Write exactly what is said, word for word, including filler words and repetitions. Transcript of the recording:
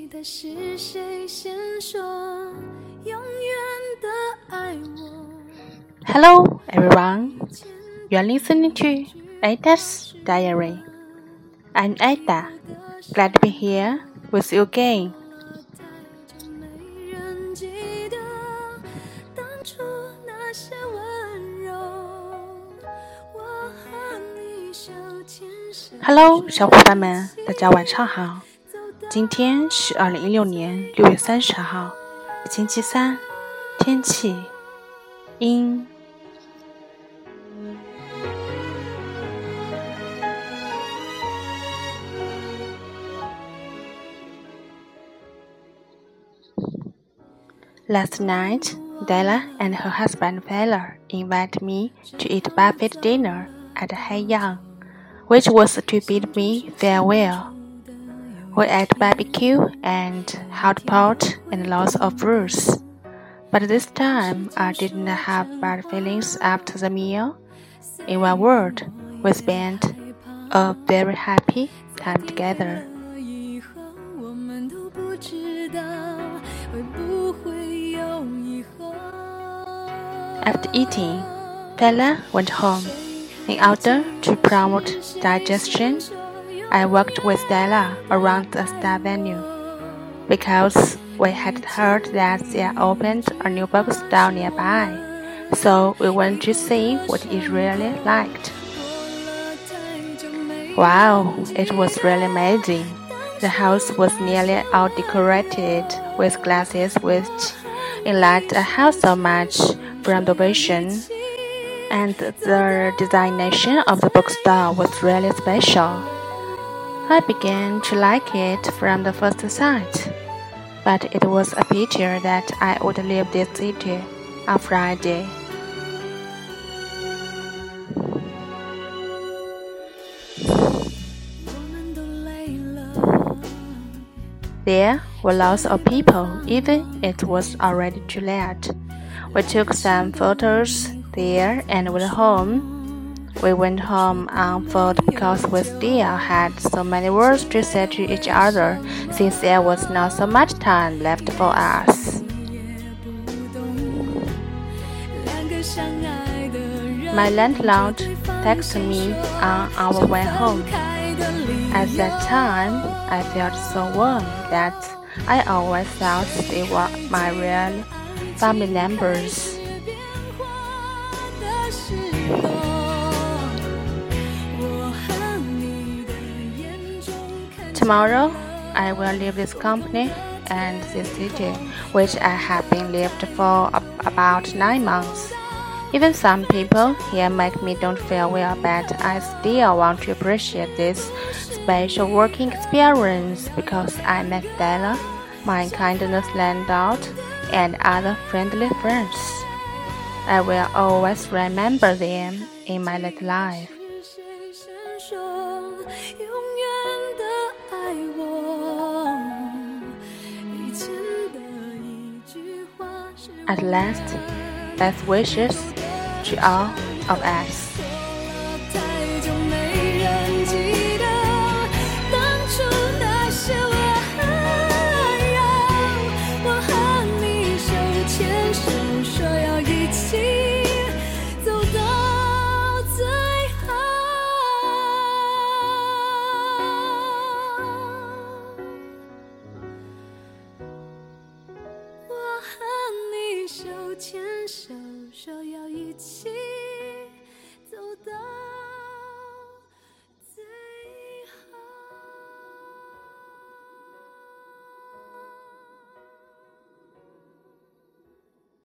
Hello everyone, you are listening to Ada's Diary. I'm Ada, glad to be here with you again. Hello， 小伙伴们，大家晚上好。今天是二零一六年六月三十号，星期三，天气阴。Last night, Della and her husband Fela invited me to eat buffet dinner at Haiyang, which was to bid me farewell. We ate barbecue and hot pot and lots of fruits. But this time, I didn't have bad feelings after the meal. In one word, we spent a very happy time together. After eating, Fela went home. In order to promote digestion, I walked with Della around the Star Venue, because we had heard that they opened a new bookstore nearby, so we went to see what it really liked. Wow, it was really amazing. The house was nearly all decorated with glasses which enlightened the house so much from the vision, and the designation of the bookstore was really special. I began to like it from the first sight, but it was a pity that I would leave this city on Friday. There were lots of people, even it was already too late. We took some photos there and went home. We went home on foot because we still had so many words to say to each other, since there was not so much time left for us. My landlord texted me on our way home. At that time, I felt so warm that I always thought they were my real family members. Tomorrow, I will leave this company and this city, which I have been lived for about nine months. Even some people here make me don't feel well, but I still want to appreciate this special working experience because I met Della, my kindness landlord, and other friendly friends. I will always remember them in my little life. At last, best wishes to all of us.